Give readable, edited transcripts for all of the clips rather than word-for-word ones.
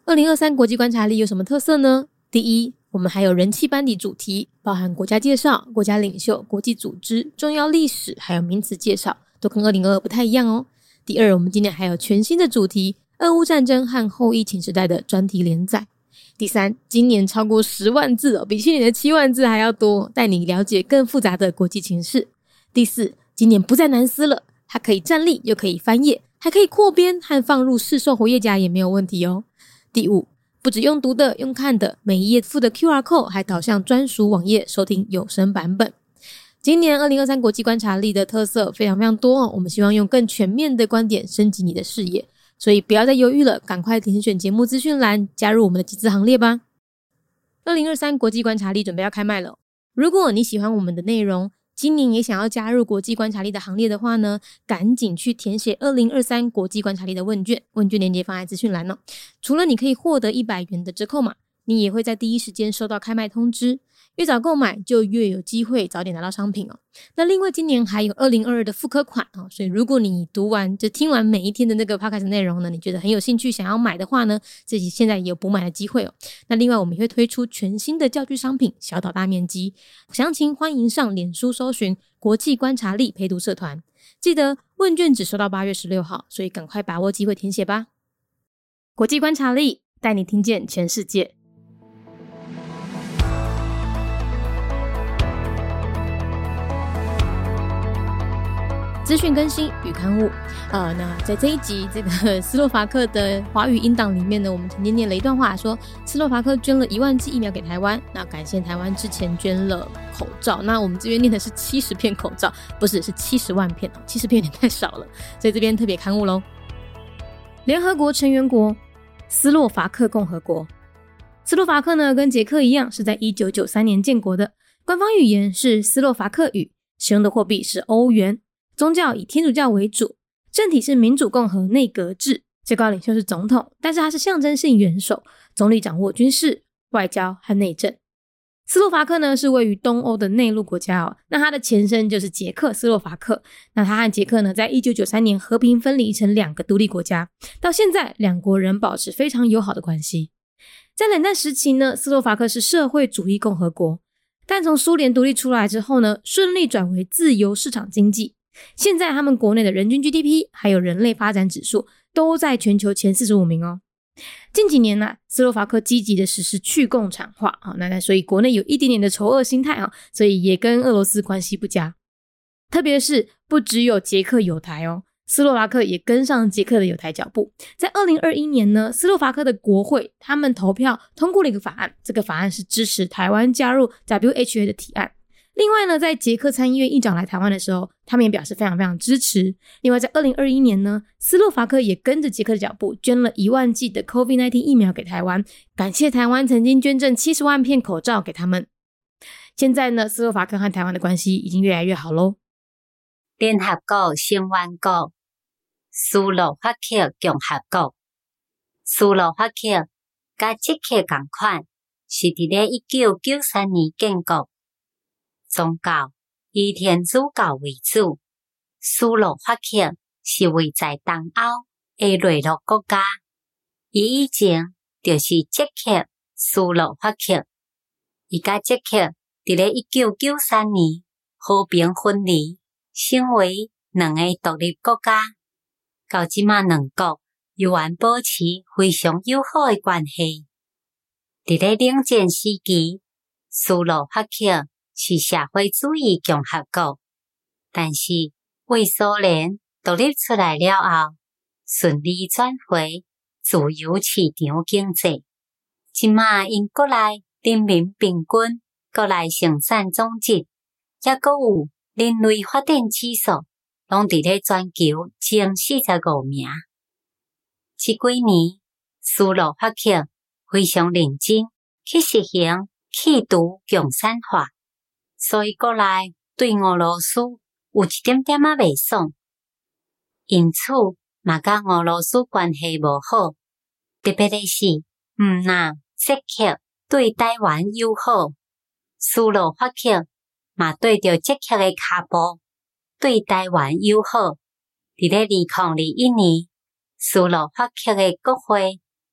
2023国际观察力有什么特色呢？第一，我们还有人气班底主题，包含国家介绍、国家领袖、国际组织、重要历史，还有名词介绍，都跟2022不太一样哦。第二，我们今年还有全新的主题，俄乌战争和后疫情时代的专题连载。第三，今年超过10万字哦，比去年的7万字还要多，带你了解更复杂的国际情势。第四，今年不再难撕了，它可以站立又可以翻页，还可以扩编和放入市售活页夹也没有问题哦。第五，不只用读的，用看的，每一页附的 QR code 还导向专属网页收听有声版本。今年2023国际观察力的特色非常非常多哦，我们希望用更全面的观点升级你的视野，所以不要再犹豫了，赶快点选节目资讯栏加入我们的集资行列吧。2023国际观察力准备要开卖了，如果你喜欢我们的内容，今年也想要加入国际观察力的行列的话呢，赶紧去填写2023国际观察力的问卷，问卷链接放在资讯栏哦。除了你可以获得100元的折扣码，你也会在第一时间收到开卖通知，越早购买就越有机会早点拿到商品哦。那另外今年还有2022的复刻款哦，所以如果你听完每一天的那个 podcast 内容呢，你觉得很有兴趣想要买的话呢，自己现在也有补买的机会哦。那另外我们也会推出全新的教具商品小岛大面积，详情欢迎上脸书搜寻国际观察力陪读社团，记得问卷只收到8月16号，所以赶快把握机会填写吧。国际观察力带你听见全世界。资讯更新与刊物那在这一集这个斯洛伐克的华语音档里面呢，我们曾经念了一段话，说斯洛伐克捐了1万剂疫苗给台湾，那感谢台湾之前捐了口罩，那我们这边念的是70片口罩，不是，是70万片，70片有点太少了，所以这边特别刊物咯。联合国成员国斯洛伐克共和国。斯洛伐克呢跟捷克一样是在1993年建国的，官方语言是斯洛伐克语，使用的货币是欧元，宗教以天主教为主，政体是民主共和内阁制，最高领袖是总统，但是他是象征性元首，总理掌握军事、外交和内政。斯洛伐克呢是位于东欧的内陆国家哦，那它的前身就是捷克斯洛伐克，那它和捷克呢在1993年和平分离成2个独立国家，到现在两国仍保持非常友好的关系。在冷战时期呢，斯洛伐克是社会主义共和国，但从苏联独立出来之后呢，顺利转为自由市场经济。现在他们国内的人均 GDP 还有人类发展指数都在全球前45名哦。近几年呢，斯洛伐克积极的实施去共产化那所以国内有一点点的仇俄心态所以也跟俄罗斯关系不佳。特别是不只有捷克友台哦，斯洛伐克也跟上捷克的友台脚步。在2021年呢，斯洛伐克的国会他们投票通过了一个法案，这个法案是支持台湾加入 WHA 的提案。另外呢，在捷克参议院议长来台湾的时候，他们也表示非常非常支持。另外在2021年呢，斯洛伐克也跟着捷克的脚步捐了1万剂的 COVID-19 疫苗给台湾，感谢台湾曾经捐赠70万片口罩给他们。现在呢，斯洛伐克和台湾的关系已经越来越好咯。 联合国成员国斯洛伐克共和国。斯洛伐克甲捷克同款，是伫咧1993年建国。宗教以天主教为主，斯洛伐克是位在东欧的内陆国家，伊以前就是捷克斯洛伐克，伊甲捷克伫咧1993年和平分离，成为2个独立国家。到即马2国犹原保持非常友好的关系。伫咧冷战时期，斯洛伐克是社会主义共和国，但是为苏联独立出来了后，顺利转回自由市场经济。即马因国内人民平均国内生产总值，也阁有人类发展指数，拢伫咧全球前45名。即几年，斯洛伐克非常认真去实行去除共产化。所以国内对俄罗斯有一点点袂爽，因此嘛甲俄罗斯关系无好，特别的是若捷克对台湾友好，斯洛伐克嘛对着捷克的脚步对台湾友好。伫咧2021年，斯洛伐克的国会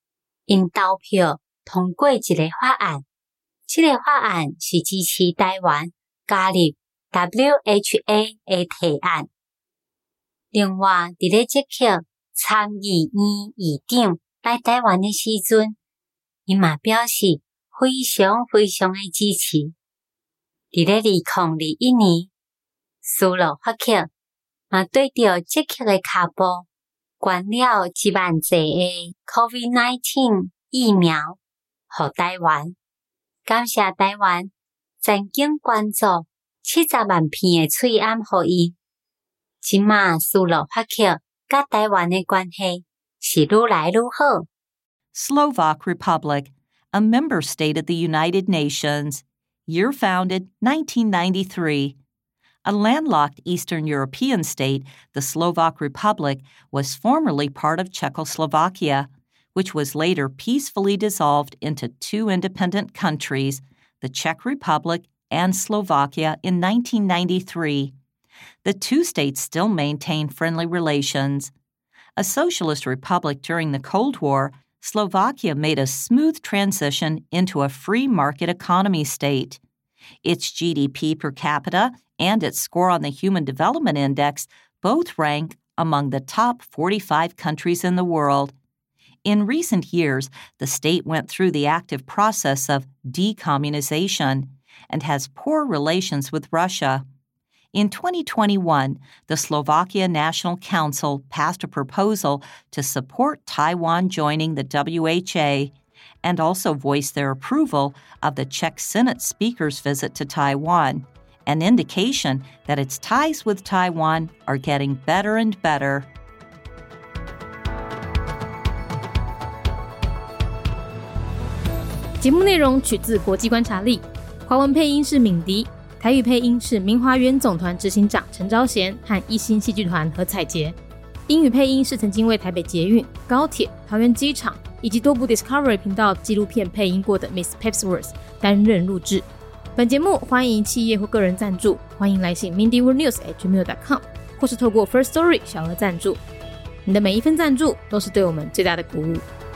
因投票通过一个法案，这个法案是支持台湾加入 WHA 的提案。另外，伫咧即刻参议院议长来台湾的时阵，伊嘛表示非常非常的支持。伫咧2021年，斯洛伐克嘛对着即刻的脚步，捐了1万剂的 COVID-19 疫苗予台湾。感谢台湾曾经捐助70万片的喙罨予伊。即马斯洛伐克甲台湾的关系是愈来愈好。 Slovak Republic, a member state of the United Nations, year founded 1993. A landlocked Eastern European state, the Slovak Republic was formerly part of Czechoslovakia, which was later peacefully dissolved into two independent countries, the Czech Republic and Slovakia, in 1993. The two states still maintain friendly relations. A socialist republic during the Cold War, Slovakia made a smooth transition into a free market economy state. Its GDP per capita and its score on the Human Development Index both rank among the top 45 countries in the world. In recent years, the state went through the active process of decommunization and has poor relations with Russia. In 2021, the Slovakia National Council passed a proposal to support Taiwan joining the WHA and also voiced their approval of the Czech Senate Speaker's visit to Taiwan, an indication that its ties with Taiwan are getting better and better. 节目内容取自国际观察力，华文配音是敏迪，台语配音是明华园总团执行长陈昭贤和一心戏剧团何彩杰，英语配音是曾经为台北捷运、高铁、桃园机场以及多部 Discovery 频道纪录片配音过的 Miss Pepsworth 担任录制。本节目欢迎企业或个人赞助，欢迎来信 mindyworldnews@gmail.com 或是透过 First Story 小额赞助。你的每一份赞助都是对我们最大的鼓舞。